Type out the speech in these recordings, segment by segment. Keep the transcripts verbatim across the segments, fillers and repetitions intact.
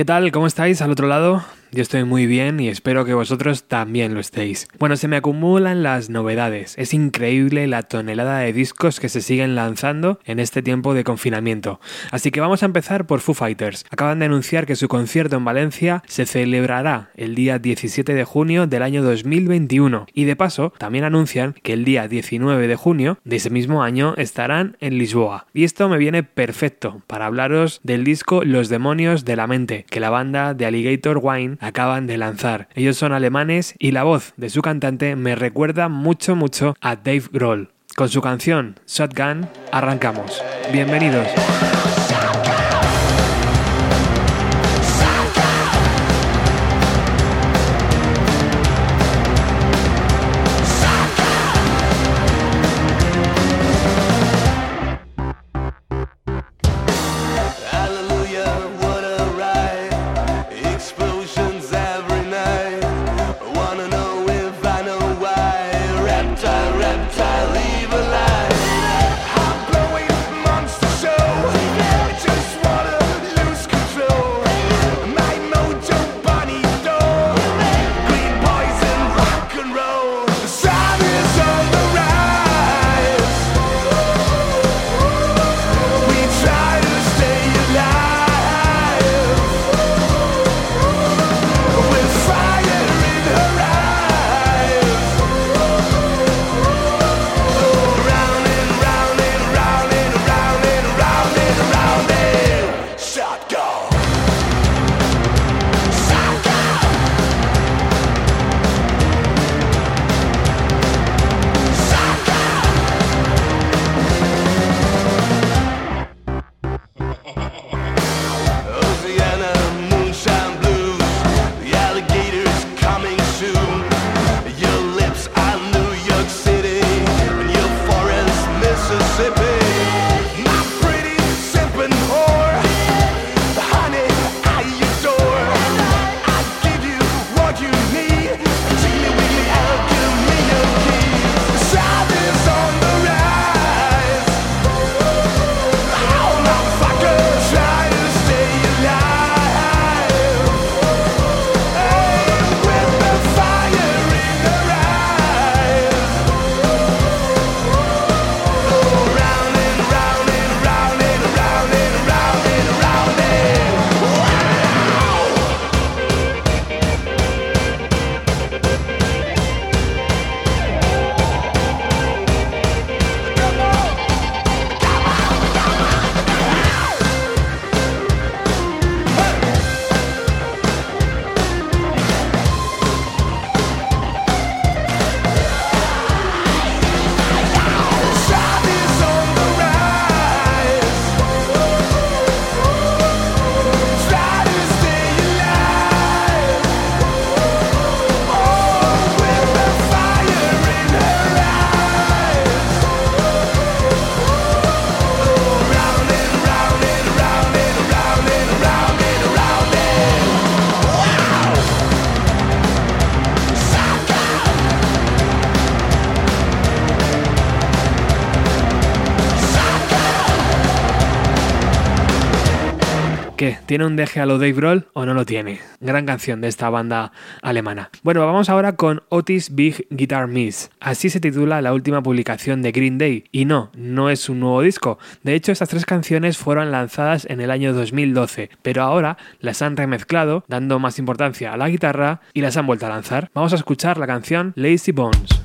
¿Qué tal? ¿Cómo estáis al otro lado? Yo estoy muy bien y espero que vosotros también lo estéis. Bueno, se me acumulan las novedades. Es increíble la tonelada de discos que se siguen lanzando en este tiempo de confinamiento. Así que vamos a empezar por Foo Fighters. Acaban de anunciar que su concierto en Valencia se celebrará el día diecisiete de junio del año dos mil veintiuno. Y de paso, también anuncian que el día diecinueve de junio de ese mismo año estarán en Lisboa. Y esto me viene perfecto para hablaros del disco Los Demonios de la Mente, que la banda de Alligator Wine acaban de lanzar. Ellos son alemanes y la voz de su cantante me recuerda mucho mucho a Dave Grohl. Con su canción Shotgun arrancamos. Bienvenidos. ¿Qué? ¿Tiene un deje a lo Dave Grohl o no lo tiene? Gran canción de esta banda alemana. Bueno, vamos ahora con Otis Big Guitar Miss. Así se titula la última publicación de Green Day. Y no, no es un nuevo disco. De hecho, estas tres canciones fueron lanzadas en el año dos mil doce, pero ahora las han remezclado, dando más importancia a la guitarra y las han vuelto a lanzar. Vamos a escuchar la canción Lazy Bones.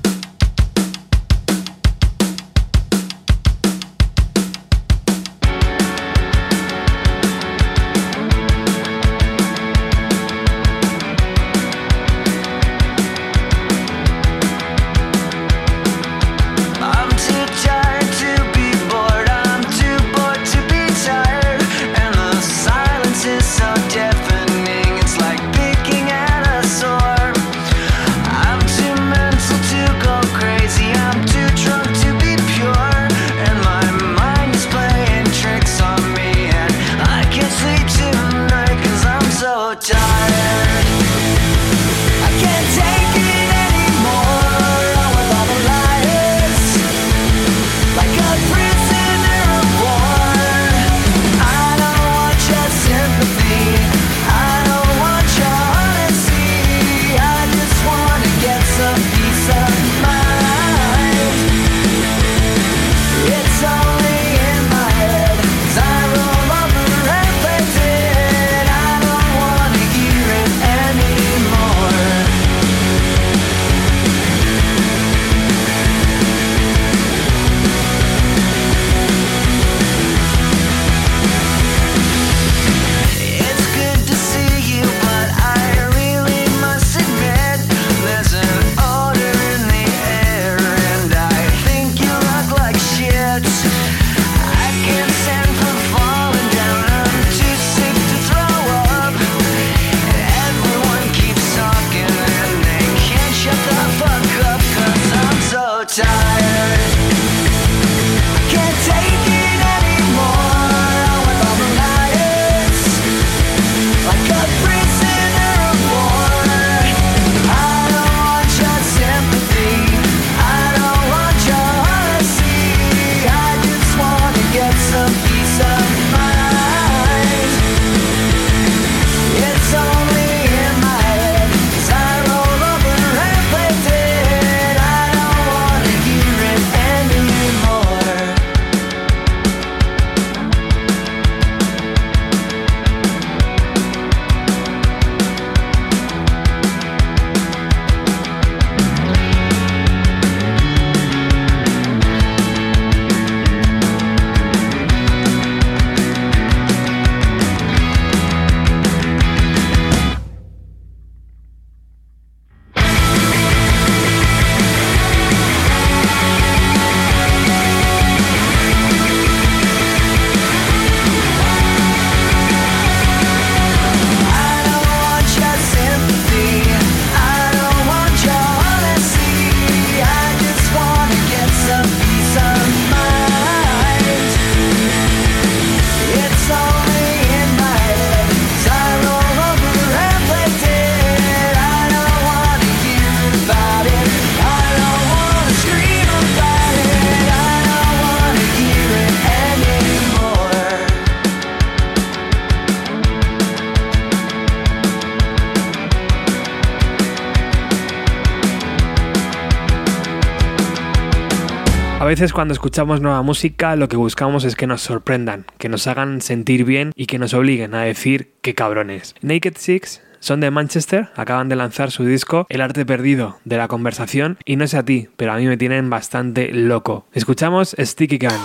I veces cuando escuchamos nueva música lo que buscamos es que nos sorprendan, que nos hagan sentir bien y que nos obliguen a decir qué cabrones. Naked Six son de Manchester, acaban de lanzar su disco El arte perdido de la conversación y no sé a ti, pero a mí me tienen bastante loco. Escuchamos Sticky Gun.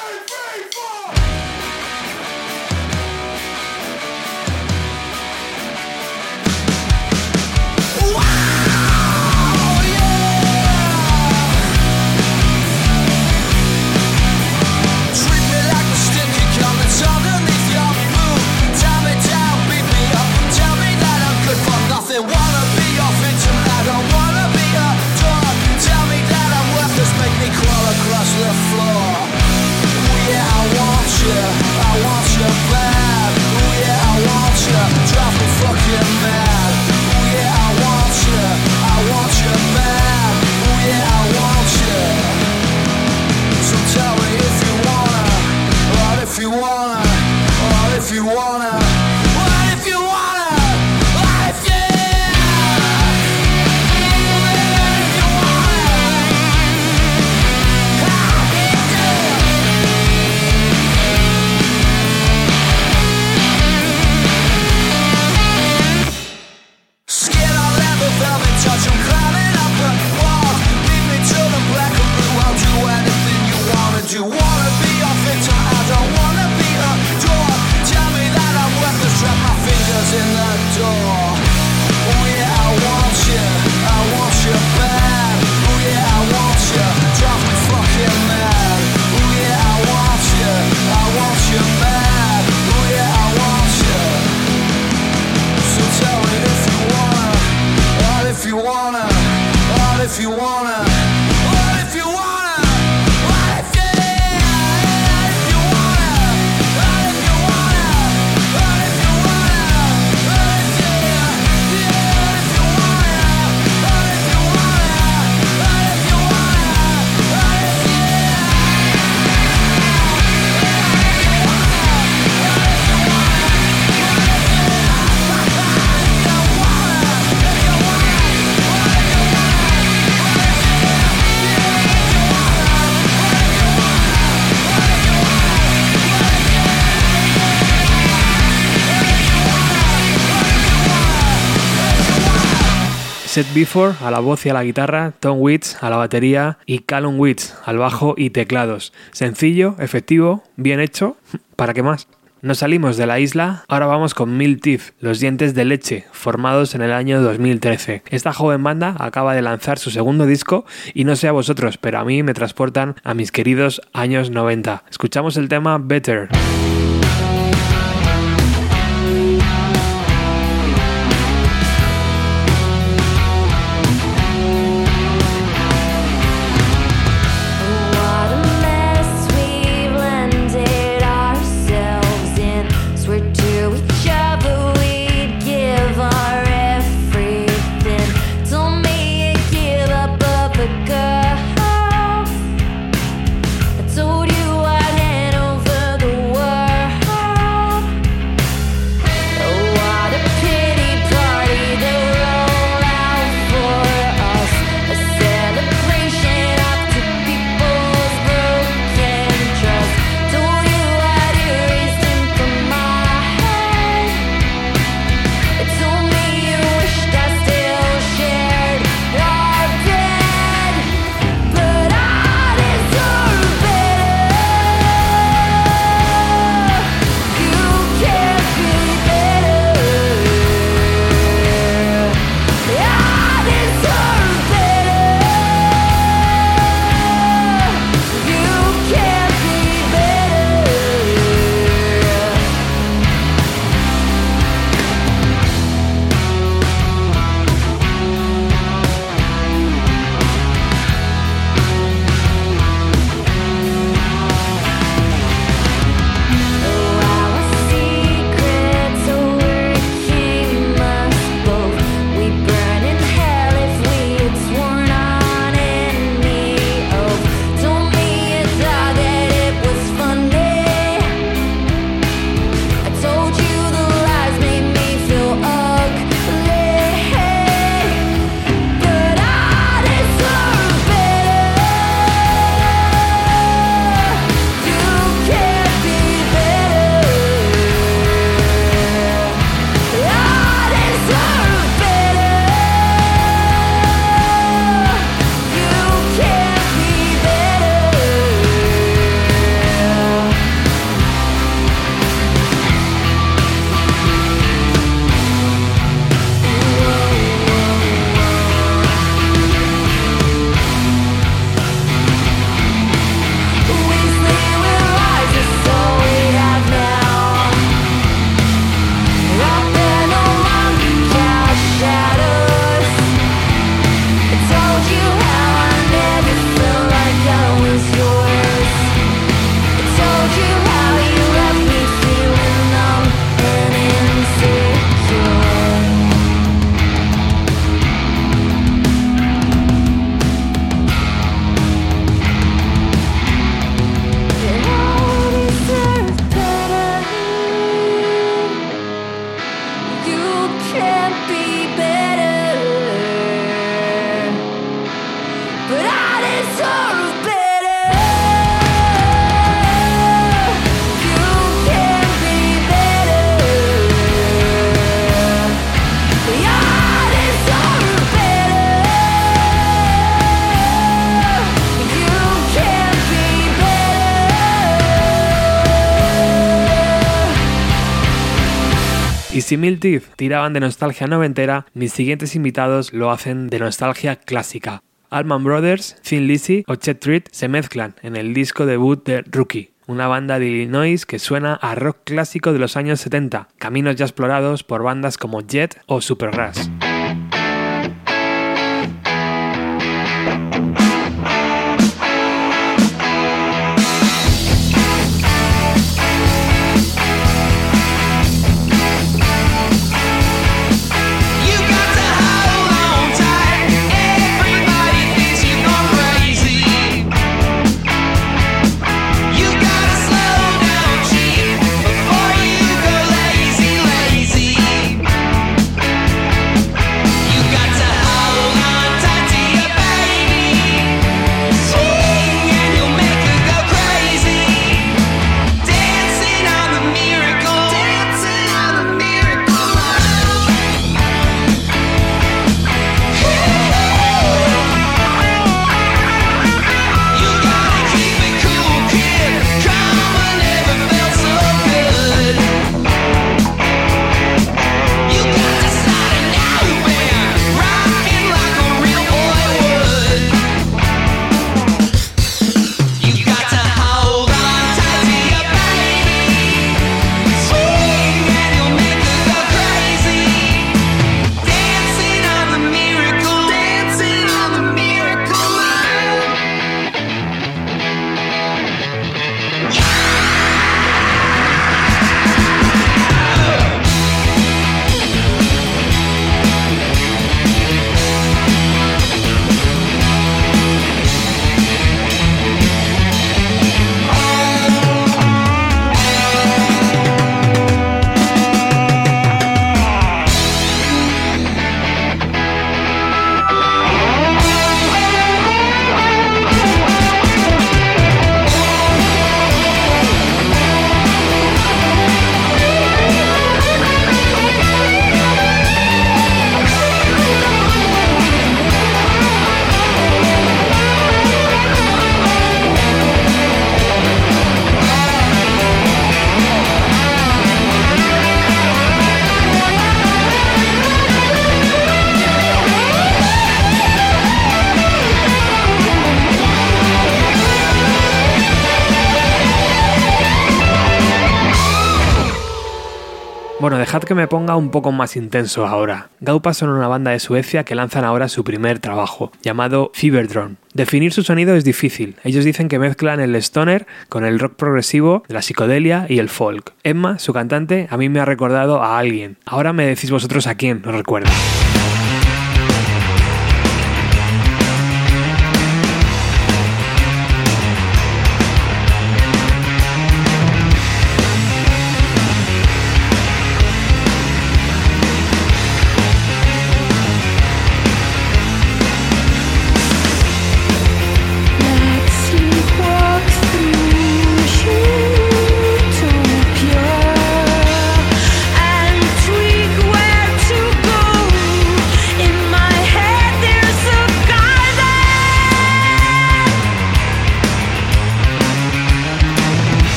Set Before a la voz y a la guitarra, Tom Waits a la batería y Callum Waits al bajo y teclados. Sencillo, efectivo, bien hecho, ¿para qué más? Nos salimos de la isla, ahora vamos con Mill Teeth, los dientes de leche, formados en el año dos mil trece. Esta joven banda acaba de lanzar su segundo disco y no sé a vosotros, pero a mí me transportan a mis queridos años noventa. Escuchamos el tema Better. Told you I'd hand over the world. Y si Mil Teeth tiraban de nostalgia noventera, mis siguientes invitados lo hacen de nostalgia clásica. Allman Brothers, Thin Lizzy o Chet Treat se mezclan en el disco debut de Rookie, una banda de Illinois que suena a rock clásico de los años setenta, caminos ya explorados por bandas como Jet o Supergrass. Bueno, dejad que me ponga un poco más intenso ahora. Gaupa son una banda de Suecia que lanzan ahora su primer trabajo, llamado Fiberdrome. Definir su sonido es difícil. Ellos dicen que mezclan el stoner con el rock progresivo, la psicodelia y el folk. Emma, su cantante, a mí me ha recordado a alguien. Ahora me decís vosotros a quién os recuerda. And tweak where to go.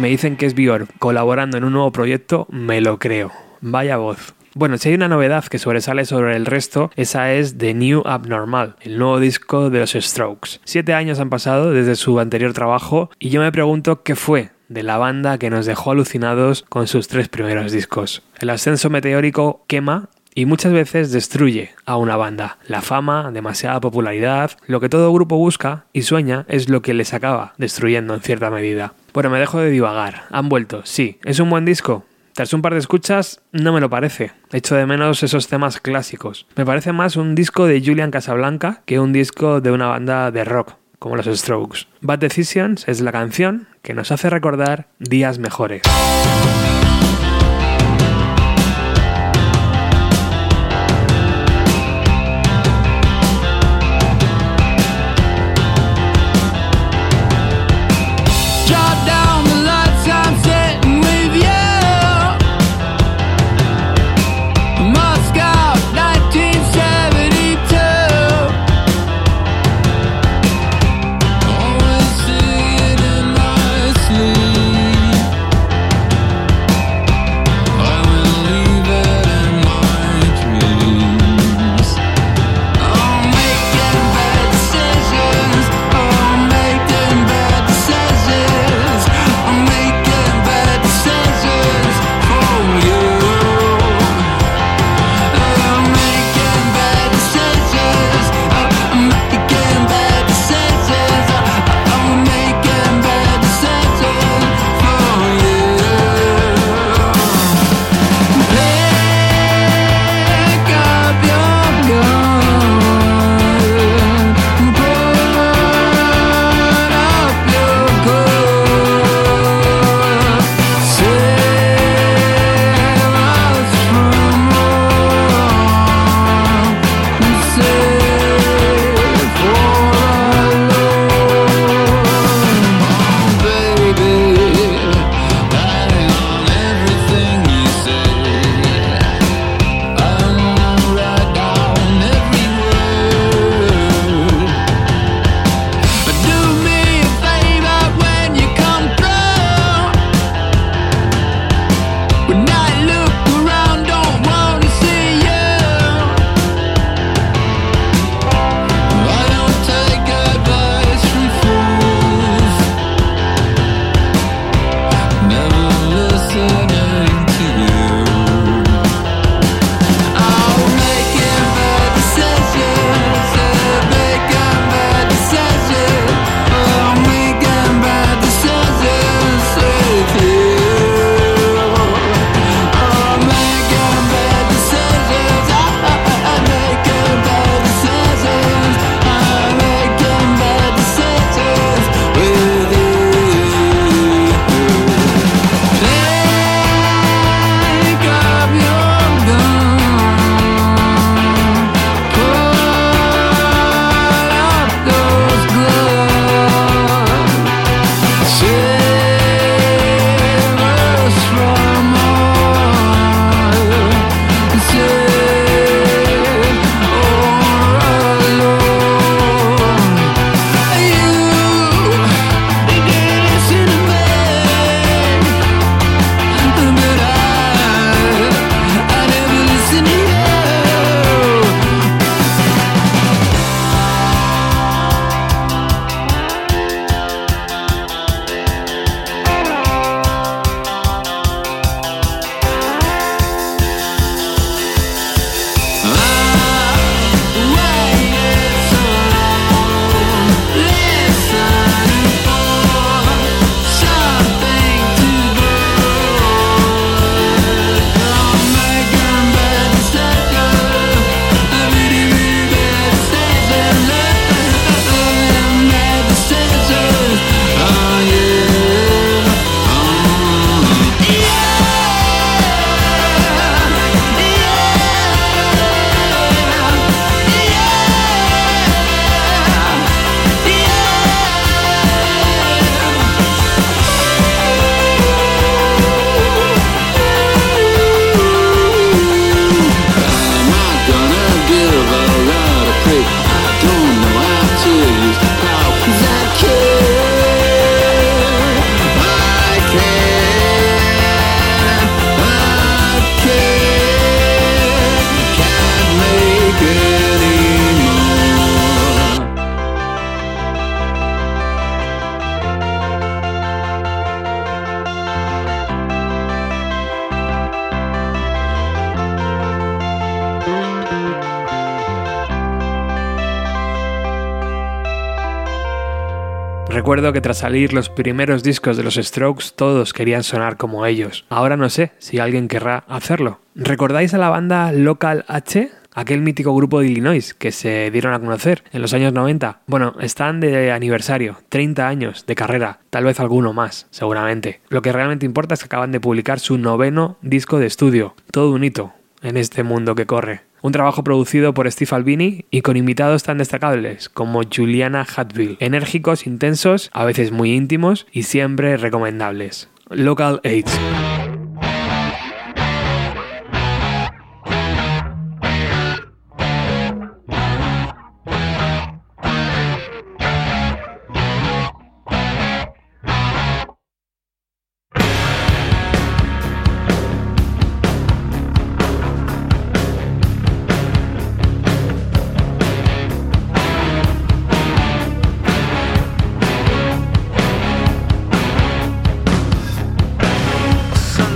me dicen que es Björk colaborando en un nuevo proyecto, me lo creo. Vaya voz. Bueno, si hay una novedad que sobresale sobre el resto, esa es The New Abnormal, el nuevo disco de los Strokes. Siete años han pasado desde su anterior trabajo y yo me pregunto qué fue de la banda que nos dejó alucinados con sus tres primeros discos. El ascenso meteórico quema y muchas veces destruye a una banda. La fama, demasiada popularidad, lo que todo grupo busca y sueña es lo que les acaba destruyendo en cierta medida. Bueno, me dejo de divagar. Han vuelto, sí. ¿Es un buen disco? Tras un par de escuchas, no me lo parece. Echo de menos esos temas clásicos. Me parece más un disco de Julian Casablanca que un disco de una banda de rock, como los Strokes. Bad Decisions es la canción que nos hace recordar días mejores. Recuerdo que tras salir los primeros discos de los Strokes todos querían sonar como ellos. Ahora no sé si alguien querrá hacerlo. ¿Recordáis a la banda Local H? Aquel mítico grupo de Illinois que se dieron a conocer en los años noventa. Bueno, están de aniversario, treinta años de carrera, tal vez alguno más, seguramente. Lo que realmente importa es que acaban de publicar su noveno disco de estudio. Todo un hito en este mundo que corre. Un trabajo producido por Steve Albini y con invitados tan destacables como Juliana Hatfield. Enérgicos, intensos, a veces muy íntimos y siempre recomendables. Local H. Sun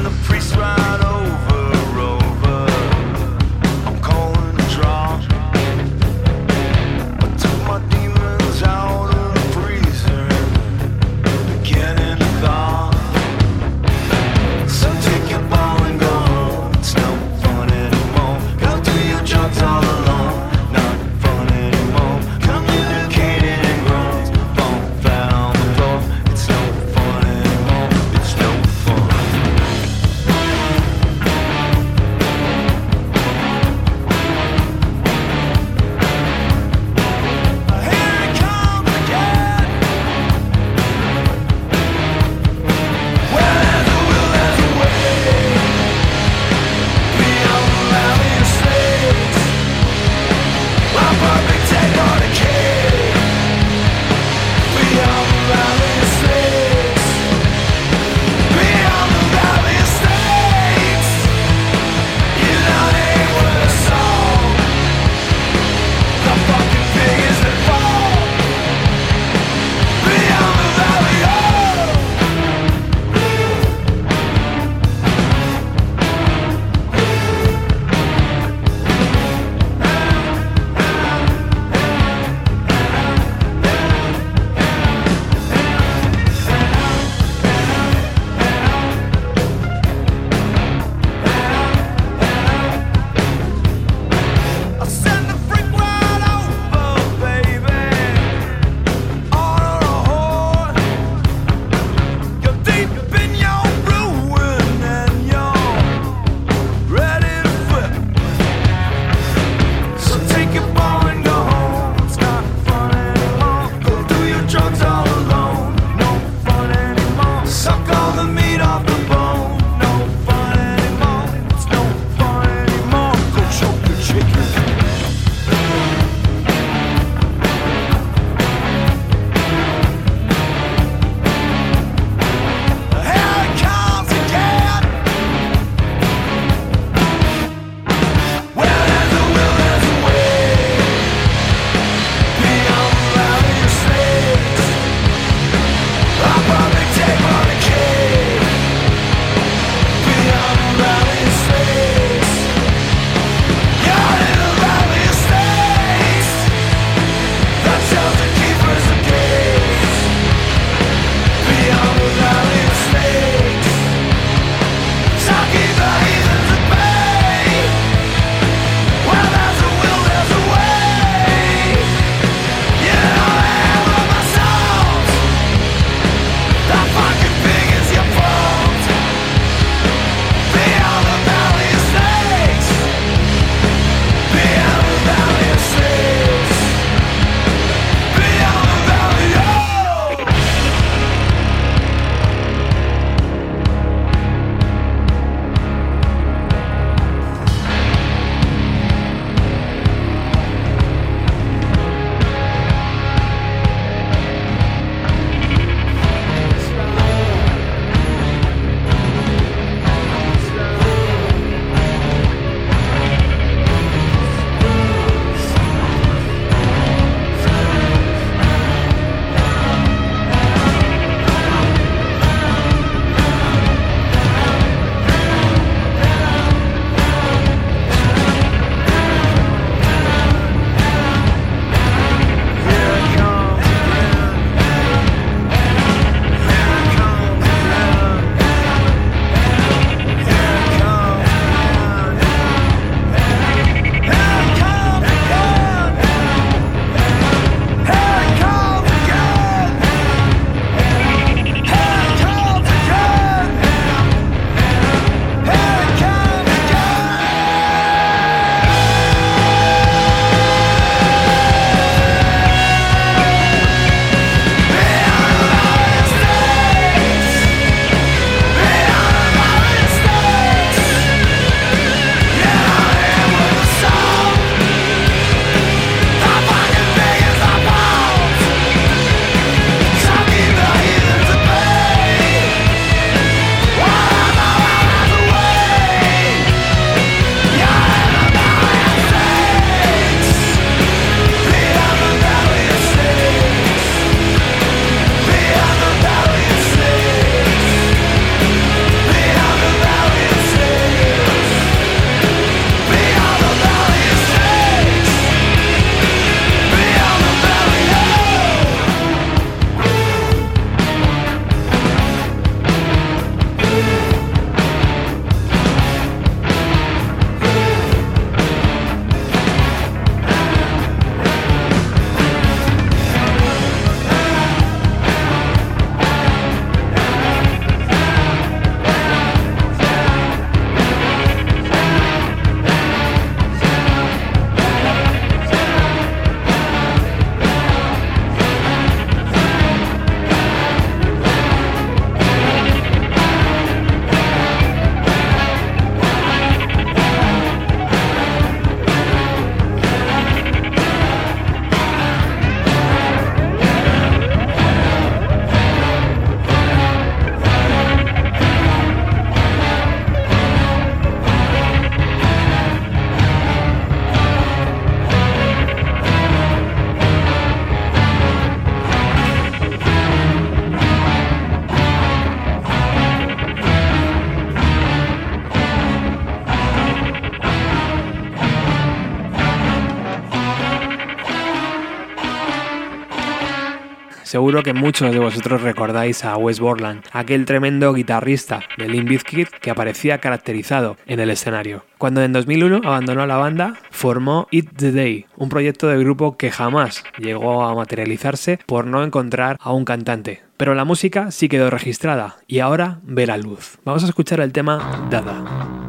Seguro que muchos de vosotros recordáis a Wes Borland, aquel tremendo guitarrista de Limp Bizkit que aparecía caracterizado en el escenario. Cuando en dos mil uno abandonó la banda, formó Eat the Day, un proyecto de grupo que jamás llegó a materializarse por no encontrar a un cantante. Pero la música sí quedó registrada y ahora ve la luz. Vamos a escuchar el tema Dada.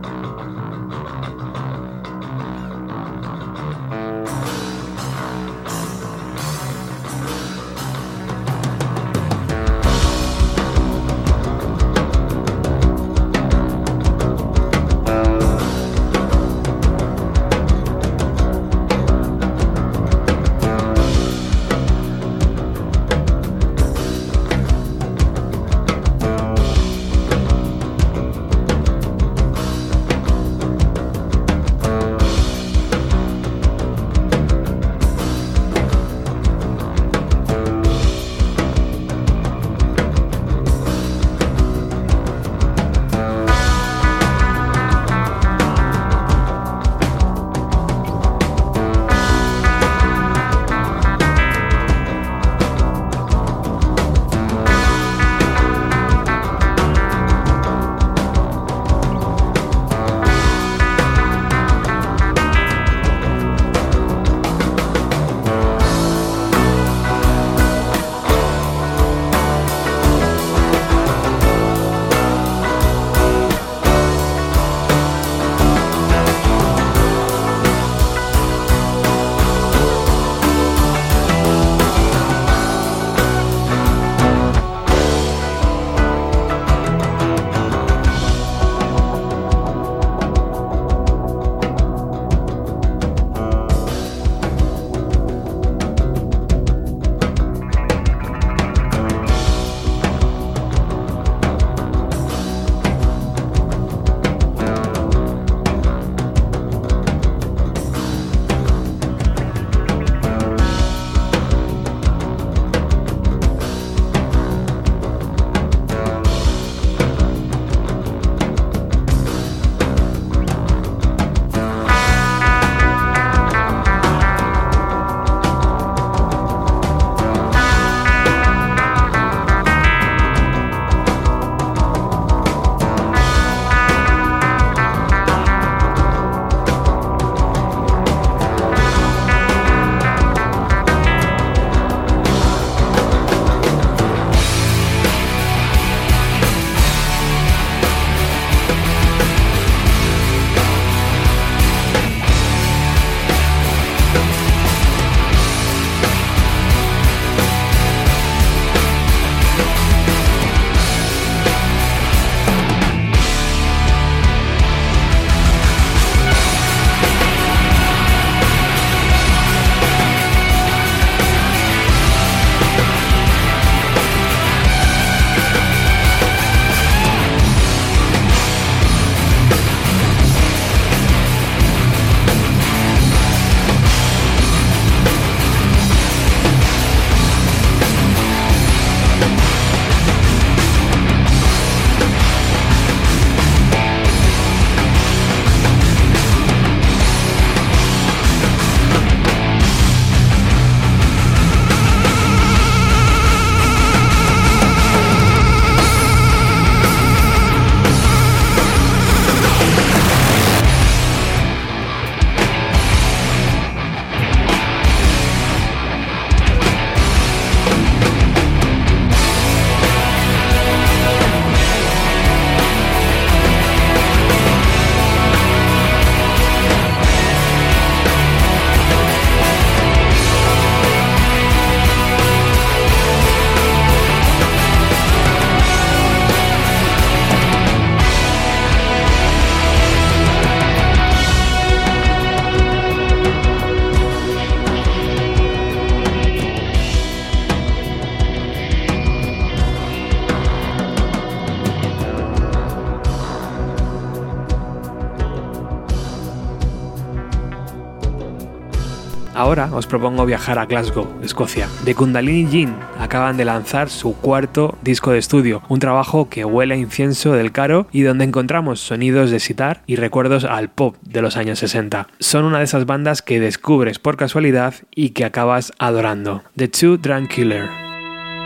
Ahora os propongo viajar a Glasgow, Escocia. The Kundalini Gin acaban de lanzar su cuarto disco de estudio, un trabajo que huele a incienso del caro y donde encontramos sonidos de sitar y recuerdos al pop de los años sesenta. Son una de esas bandas que descubres por casualidad y que acabas adorando. The Two Drunk Killer.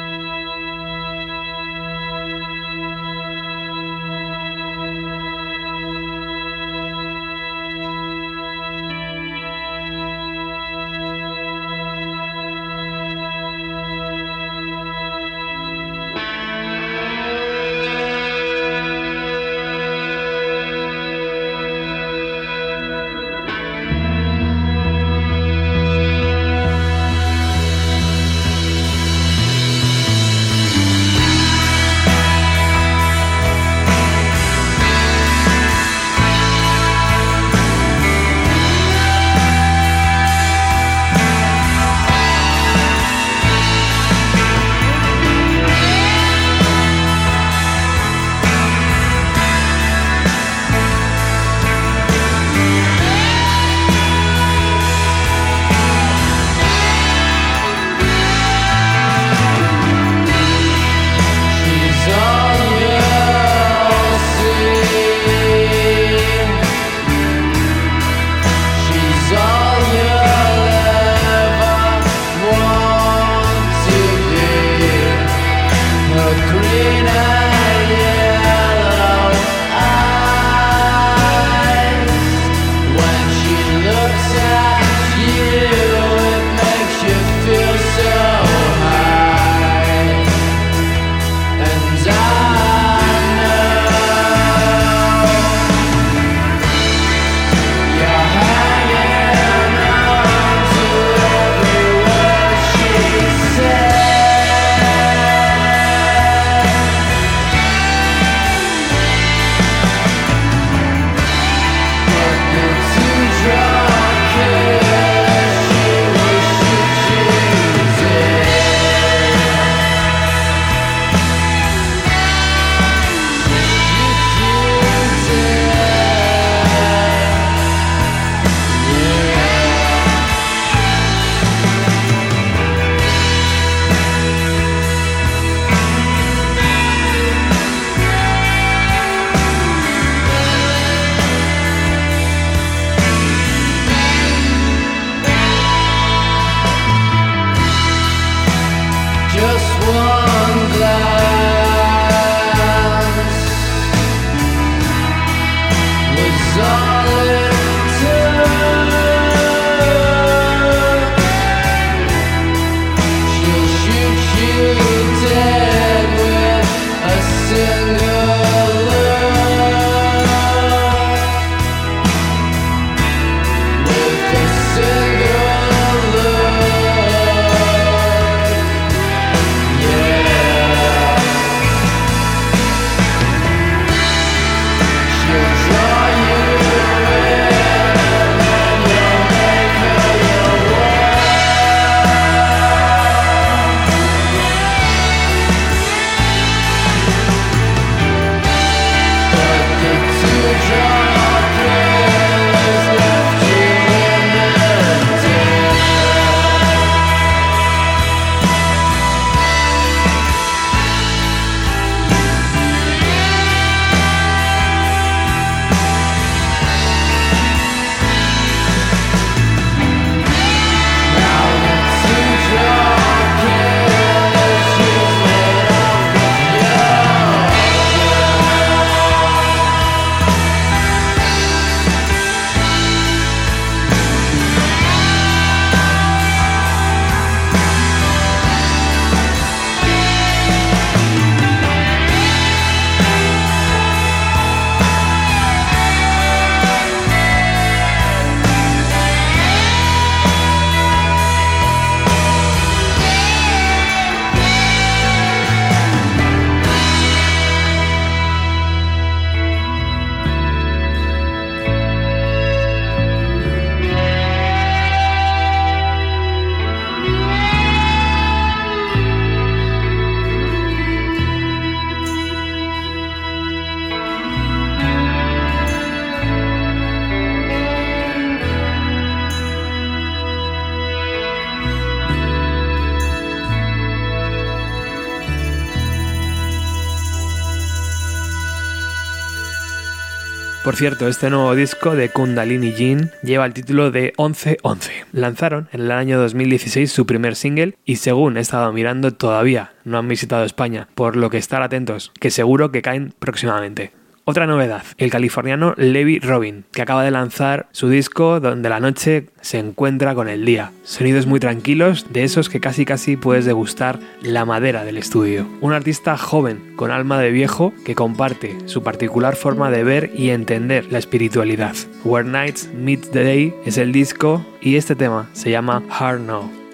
Por cierto, este nuevo disco de Kundalini Jean lleva el título de once once. Lanzaron en el año dos mil dieciséis su primer single y según he estado mirando todavía no han visitado España, por lo que estar atentos, que seguro que caen próximamente. Otra novedad, el californiano Levi Robin, que acaba de lanzar su disco donde la noche se encuentra con el día. Sonidos muy tranquilos, de esos que casi casi puedes degustar la madera del estudio. Un artista joven, con alma de viejo, que comparte su particular forma de ver y entender la espiritualidad. Where Nights Meet the Day es el disco y este tema se llama Hard No.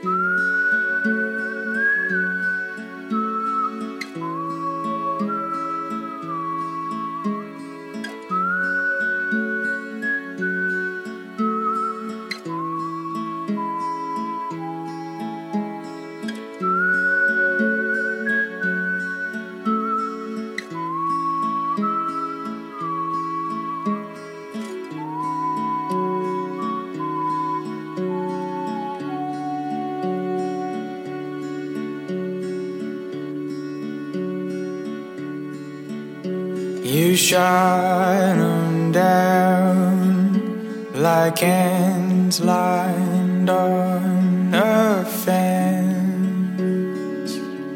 You shine on down like hands lined on a fence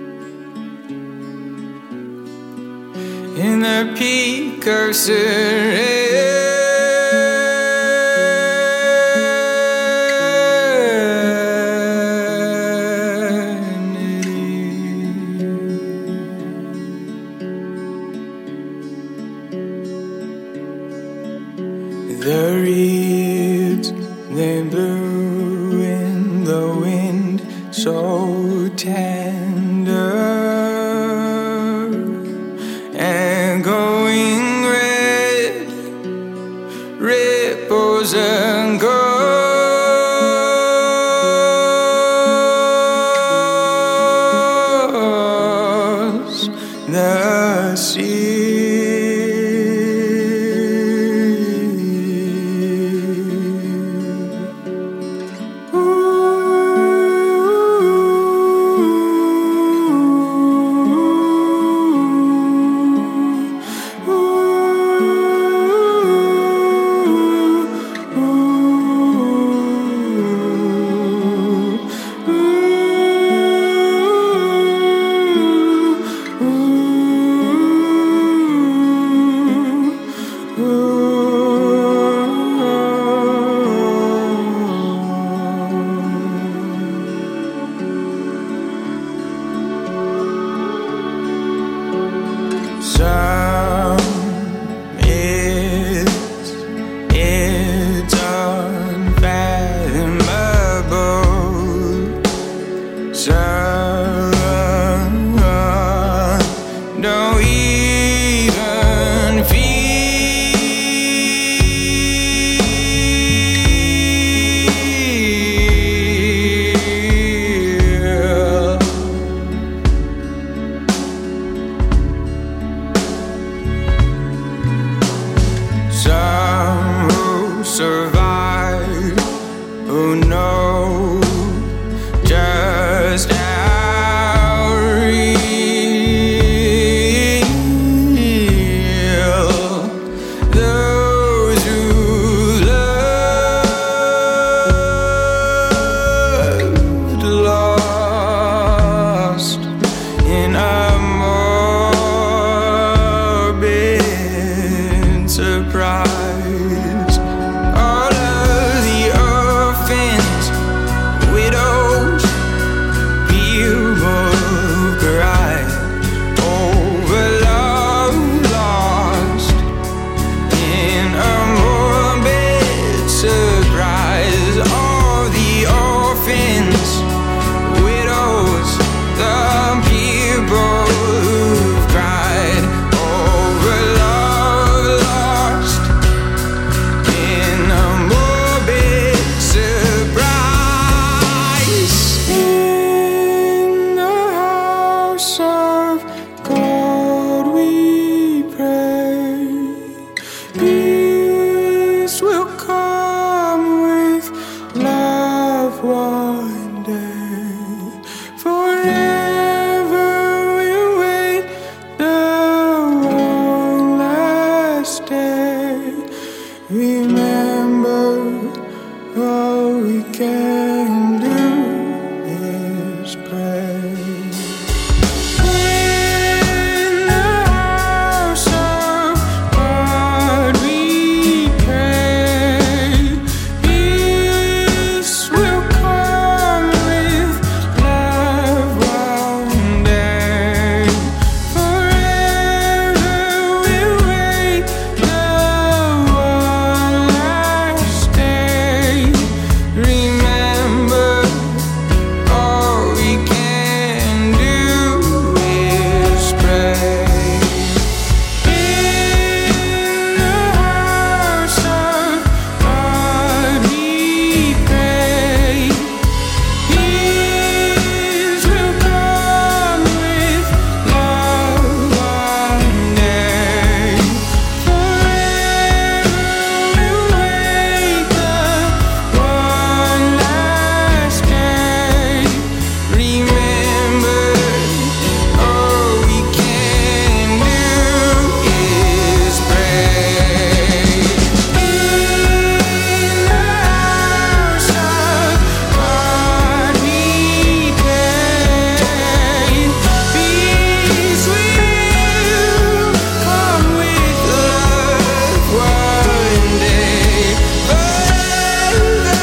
in the peak of serenity. The reeds, they blew in the wind so tender and going red, ripples and ghosts, the sea. all we can do is pray. In the house of God we pray, peace will come with love one day. Forever we'll wait the one last day. Remember, all we can do is pray. In the house of God we pray, peace will come with love one day. Forever we'll wait the one last day. Remember, all we can do is pray. In the house of God we pray, peace will come with love one day. Forever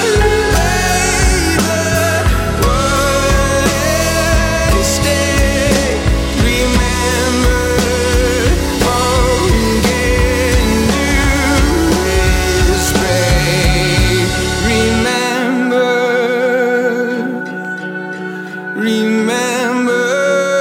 we'll stay. Remember, all we can do is pray. Remember, remember.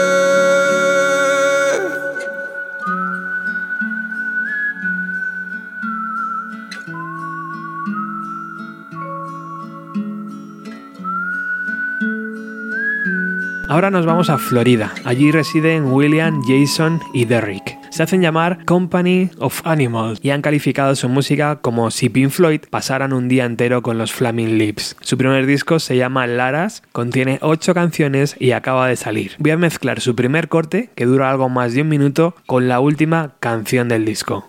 Ahora nos vamos a Florida. Allí residen William, Jason y Derrick. Se hacen llamar Company of Animals y han calificado su música como si Pink Floyd pasaran un día entero con los Flaming Lips. Su primer disco se llama Laras, contiene ocho canciones y acaba de salir. Voy a mezclar su primer corte, que dura algo más de un minuto, con la última canción del disco.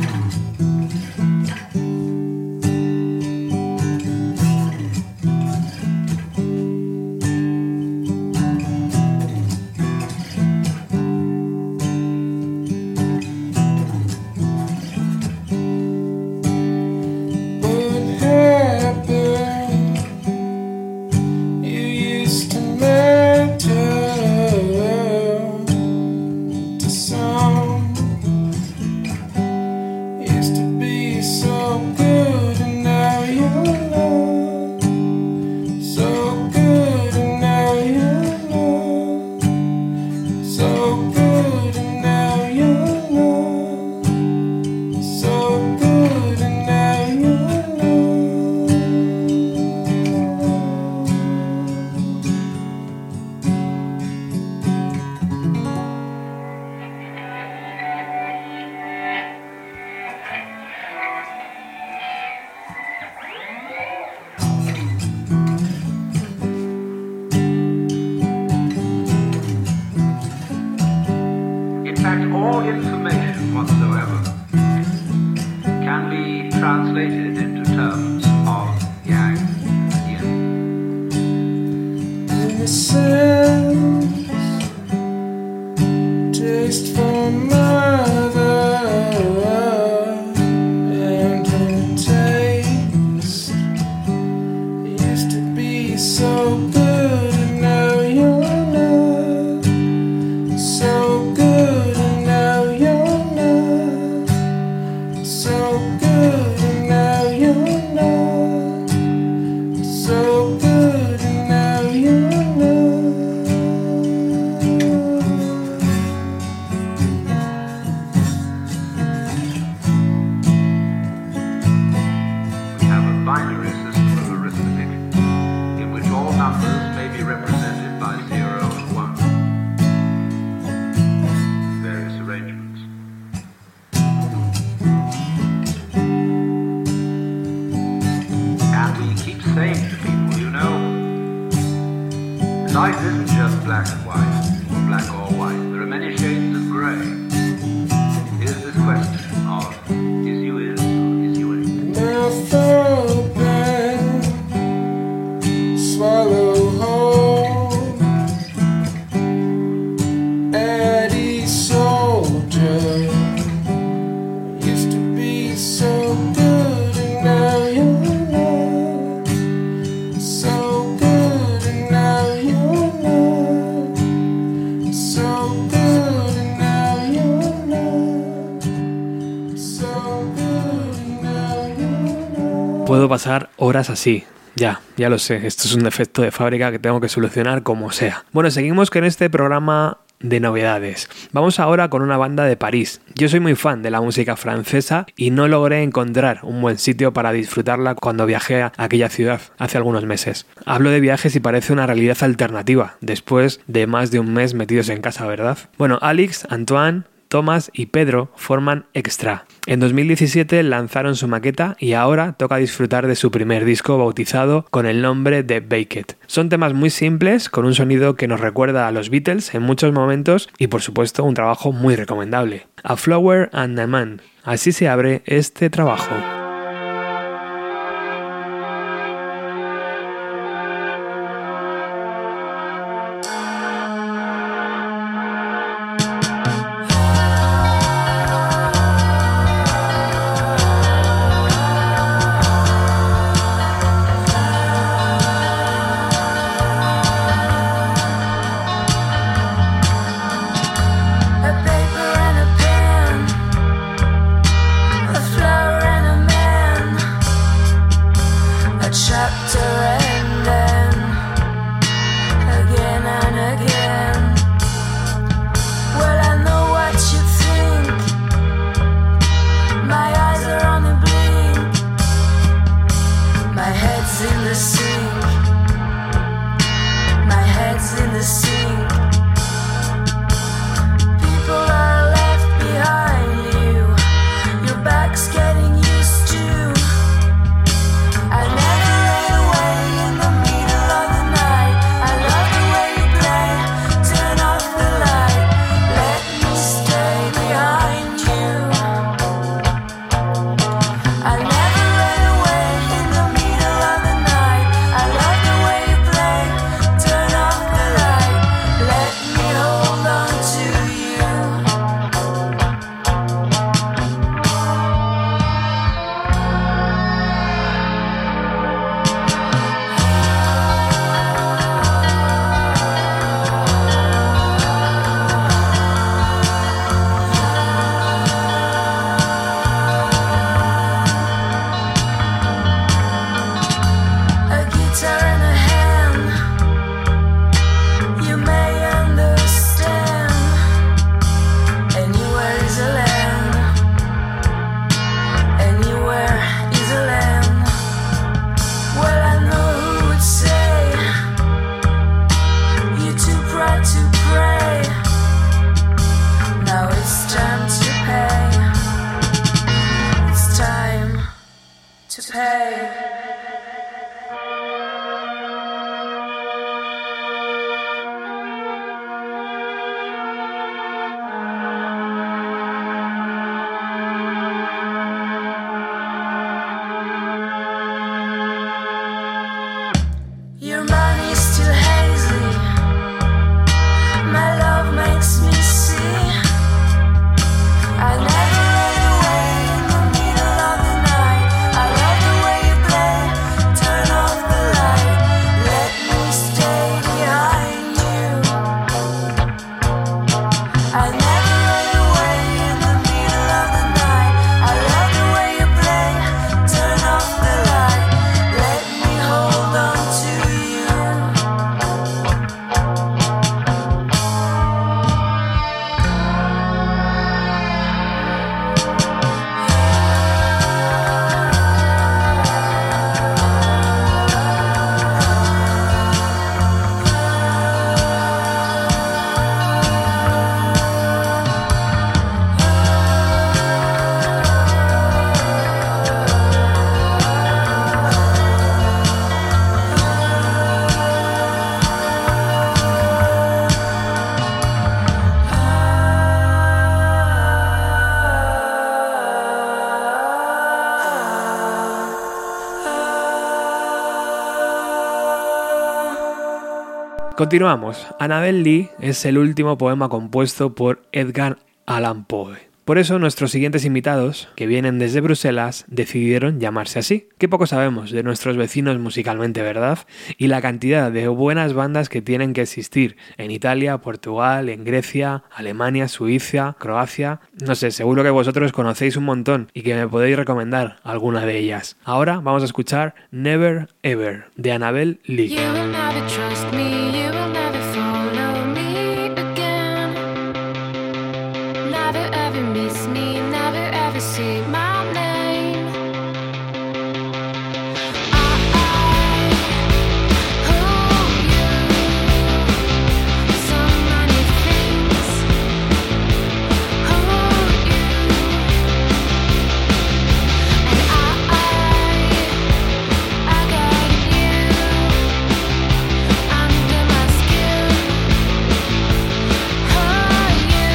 What happened? You used to matter to some. Used to be so good, and now you're not. So good, and now you're not. So good, and now you're not. So good, and now you're not. In fact, all information whatsoever can be translated into terms of yang and yin. Innocence, taste for mother, and her taste used to be so good, and now you're not. So good, and now you're not. So good, and now you're not. So good, and now you're not. We have a binary system of arithmetic in which all numbers may be represented by zero and one. Various arrangements. And we keep saying to people, you know, life isn't just black and white, or black or white. There are many shades of grey. Here's this question of, is you in or is you in? Mouth open, horas así. Ya, ya lo sé, esto es un defecto de fábrica que tengo que solucionar como sea. Bueno, seguimos con este programa de novedades. Vamos ahora con una banda de París. Yo soy muy fan de la música francesa y no logré encontrar un buen sitio para disfrutarla cuando viajé a aquella ciudad hace algunos meses. Hablo de viajes y parece una realidad alternativa, después de más de un mes metidos en casa, ¿verdad? Bueno, Alex, Antoine, Thomas y Pedro forman Extra. En dos mil diecisiete lanzaron su maqueta y ahora toca disfrutar de su primer disco bautizado con el nombre de Baked. Son temas muy simples, con un sonido que nos recuerda a los Beatles en muchos momentos y por supuesto un trabajo muy recomendable. A Flower and a Man. Así se abre este trabajo. Continuamos. Annabel Lee es el último poema compuesto por Edgar Allan Poe. Por eso nuestros siguientes invitados, que vienen desde Bruselas, decidieron llamarse así. Qué poco sabemos de nuestros vecinos musicalmente, ¿verdad? Y la cantidad de buenas bandas que tienen que existir en Italia, Portugal, en Grecia, Alemania, Suiza, Croacia... No sé, seguro que vosotros conocéis un montón y que me podéis recomendar alguna de ellas. Ahora vamos a escuchar Never Ever, de Annabel Lee. You will never trust me, you will never follow me again. Never ever miss me, never ever say my name. I, I owe you so many things. Owe you, and I, I, I got you under my skin. Owe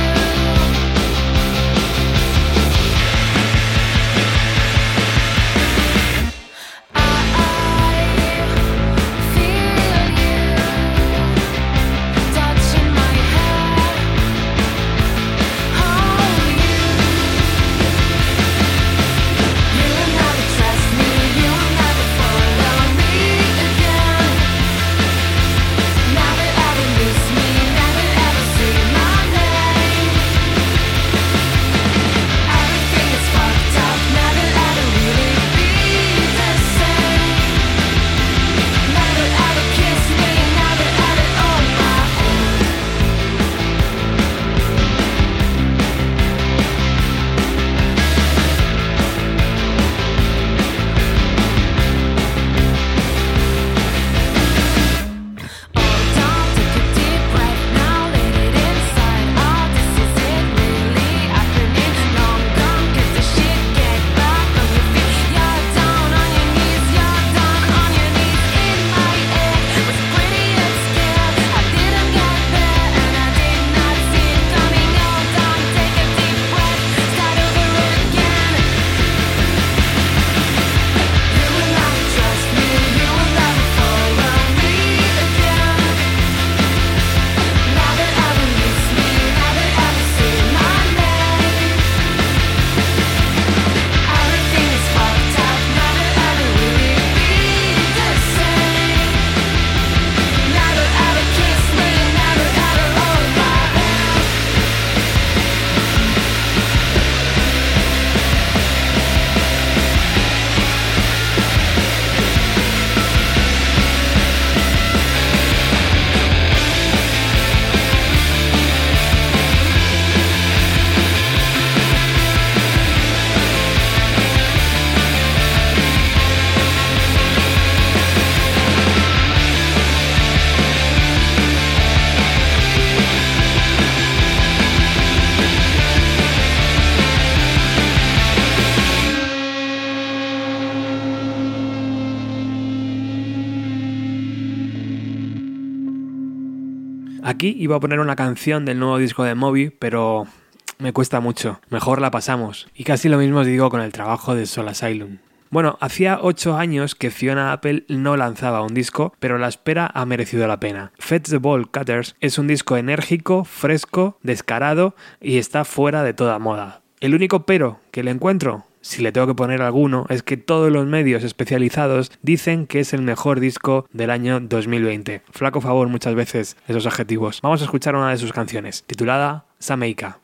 Aquí iba a poner una canción del nuevo disco de Moby, pero me cuesta mucho. Mejor la pasamos. Y casi lo mismo os digo con el trabajo de Soul Asylum. Bueno, hacía ocho años que Fiona Apple no lanzaba un disco, pero la espera ha merecido la pena. Fetch the Ball Cutters es un disco enérgico, fresco, descarado y está fuera de toda moda. El único pero que le encuentro, si le tengo que poner alguno, es que todos los medios especializados dicen que es el mejor disco del año dos mil veinte. Flaco favor muchas veces esos adjetivos. Vamos a escuchar una de sus canciones, titulada Sameika.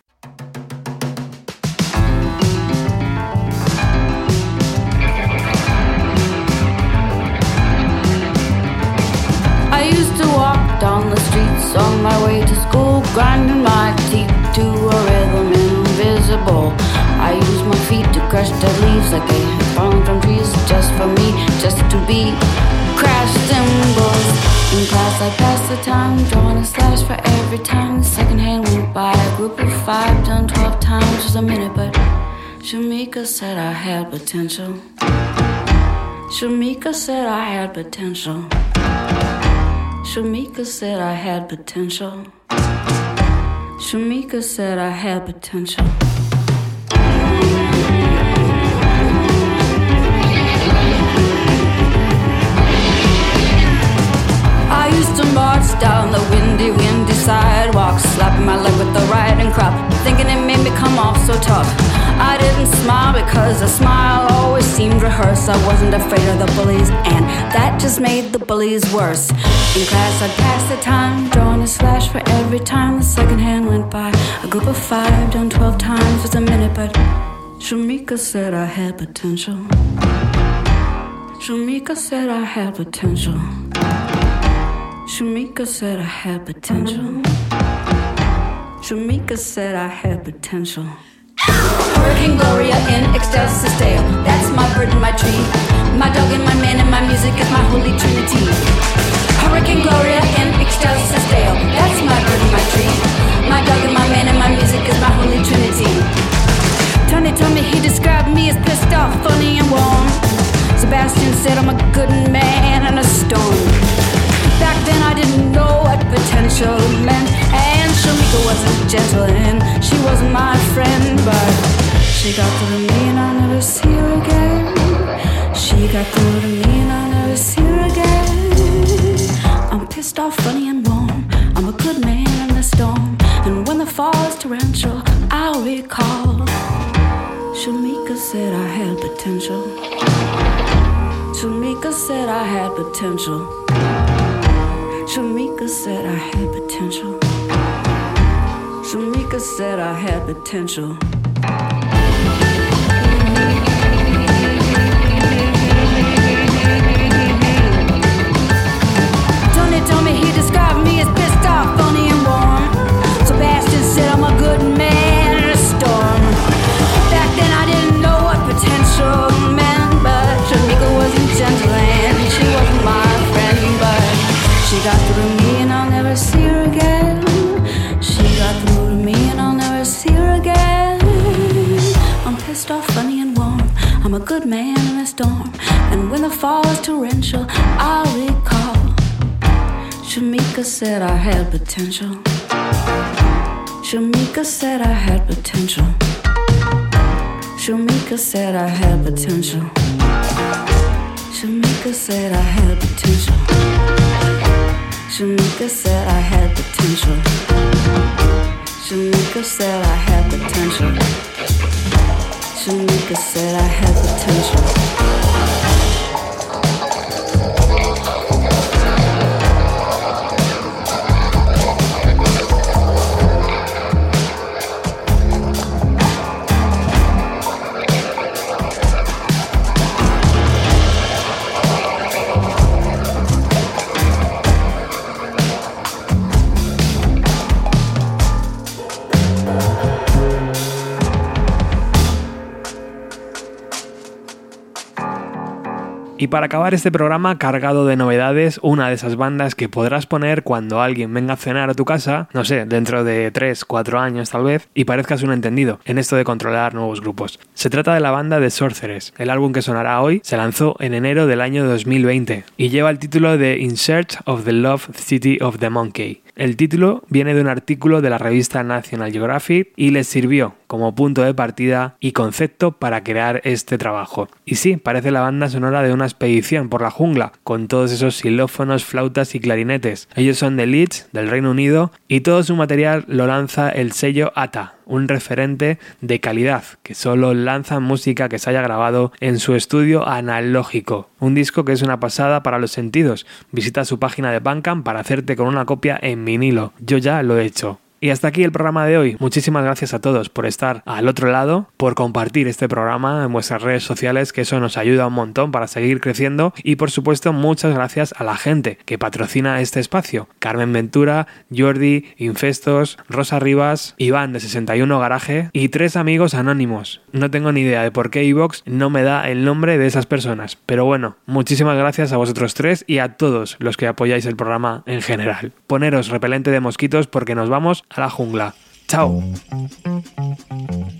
I used to walk down the streets on my way to school, grinding my teeth to a rhythm invisible. I used my feet to crush dead leaves like they had fallen from trees, just for me, just to be crash cymbals. In class I passed the time, drawing a slash for every time the second hand went by. A group of five done twelve times was a minute, but Shamika said I had potential. Shamika said I had potential. Shamika said I had potential. Shamika said I had potential. I used to march down the windy, windy sidewalks, slap my leg with the riding crop, thinking it made me come off so tough. I didn't smile because a smile always seemed rehearsed. I wasn't afraid of the bullies, and that just made the bullies worse. In class I'd pass the time, drawing a slash for every time the second hand went by. A group of five done twelve times was a minute, but Shamika said I had potential. Shamika said I had potential. Shamika said I had potential. Shamika said I had potential. Hurricane Gloria in excelsis Deo. That's my bird and my tree. My dog and my man and my music is my holy trinity. Hurricane Gloria in excelsis Deo. That's my bird and my tree. My dog and my man and my music is my holy trinity. Tony told me he described me as pissed off, funny and warm. Sebastian said I'm a good man and a storm. Back then I didn't know what potential meant, and Shamika wasn't gentle and she wasn't my friend, but she got through to me and I'll never see her again. She got through to me and I'll never see her again. I'm pissed off, funny and warm. I'm a good man in the storm, and when the fall is torrential, I'll recall Shamika said I had potential. Shamika said I had potential. Shamika said I had potential. Shamika said I had potential. Tony told me he described me as pissed off, funny and warm. Sebastian said I'm a good man in a storm. Back then I didn't know what potential meant, but Shamika wasn't gentle and she wasn't my friend, but she got through to me and I'll never see her again. She got through to me and I'll never see her again. I'm pissed off, funny and warm. I'm a good man in a storm, and when the fall is torrential, I'll recall Shamika said I had potential. Shamika said I had potential. Shamika said I had potential. Shamika said I had potential. Shamika said I had potential. Shamika said I had potential. Shamika said I had potential. Y para acabar este programa cargado de novedades, una de esas bandas que podrás poner cuando alguien venga a cenar a tu casa, no sé, dentro de tres, cuatro años tal vez, y parezcas un entendido en esto de controlar nuevos grupos. Se trata de la banda The Sorceress. El álbum que sonará hoy se lanzó en enero del año dos mil veinte y lleva el título de In Search of the Love City of the Monkey. El título viene de un artículo de la revista National Geographic y les sirvió como punto de partida y concepto para crear este trabajo. Y sí, parece la banda sonora de una expedición por la jungla, con todos esos xilófonos, flautas y clarinetes. Ellos son de Leeds, del Reino Unido, y todo su material lo lanza el sello A T A, un referente de calidad, que solo lanza música que se haya grabado en su estudio analógico. Un disco que es una pasada para los sentidos. Visita su página de Bandcamp para hacerte con una copia en vinilo. Yo ya lo he hecho. Y hasta aquí el programa de hoy. Muchísimas gracias a todos por estar al otro lado, por compartir este programa en vuestras redes sociales, que eso nos ayuda un montón para seguir creciendo. Y por supuesto, muchas gracias a la gente que patrocina este espacio. Carmen Ventura, Jordi, Infestos, Rosa Rivas, Iván de sesenta y uno Garaje y tres amigos anónimos. No tengo ni idea de por qué iVoox no me da el nombre de esas personas. Pero bueno, muchísimas gracias a vosotros tres y a todos los que apoyáis el programa en general. Poneros repelente de mosquitos porque nos vamos a la jungla. ¡Chao!